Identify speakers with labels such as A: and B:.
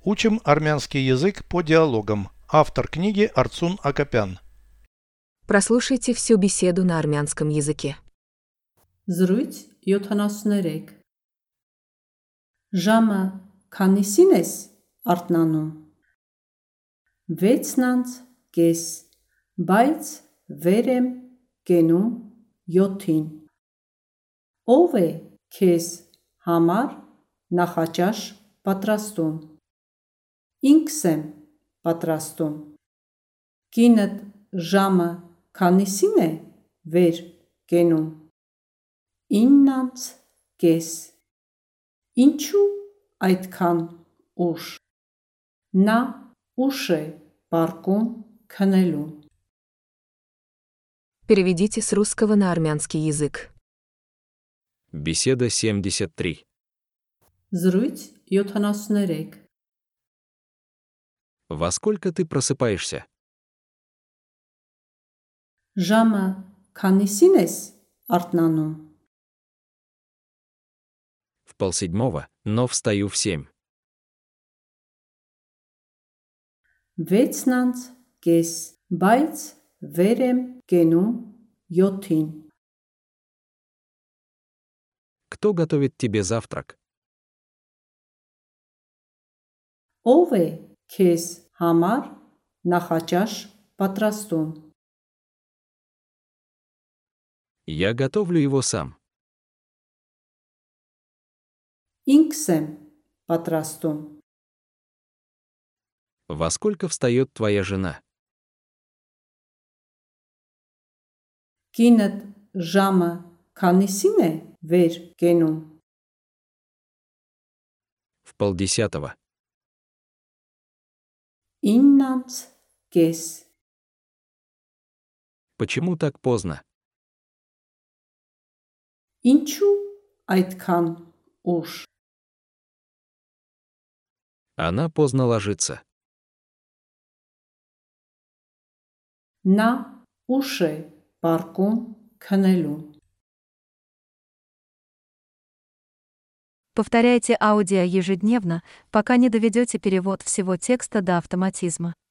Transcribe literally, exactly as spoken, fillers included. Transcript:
A: Учим армянский язык по диалогам. Автор книги Арцун Акопян.
B: Прослушайте всю беседу на армянском языке.
C: Զրույց յոթանասուններեք Ժամը քանիսին ես արթնանում վեցն անց կես, բայց վեր եմ կենում յոթին Ով է քեզ համար նախաճաշ պատրաստում Ինքս եմ պատրաստում Կինդ ժամը քանիսին է վեր կենում ինն անց կես Ինչու այդքան ուշ Նա ուշ է պառկում քնելու
B: Переведите с русского на армянский язык.
D: Беседа семьдесят три.
C: Զրույց յոթանասուններեք
D: Во сколько ты просыпаешься?
C: Ժամը քանիսին ես արթնանում
D: В полседьмого, но встаю в семь.
C: վեցն անց կես, բայց վեր եմ կենում յոթին
D: Кто готовит тебе завтрак?
C: Ով է քեզ համար նախաճաշ պատրաստում
D: Я готовлю его сам.
C: Ինքս եմ պատրաստում
D: Во сколько встает твоя жена?
C: Կինդ ժամը քանիսին է վեր կենում
D: В полдесятого.
C: ինն անց կես
D: Почему так поздно?
C: Ինչու այդքան ուշ
D: Она поздно ложится.
C: Նա ուշ է պառկում քնելու
E: Повторяйте аудио ежедневно, пока не доведете перевод всего текста до автоматизма.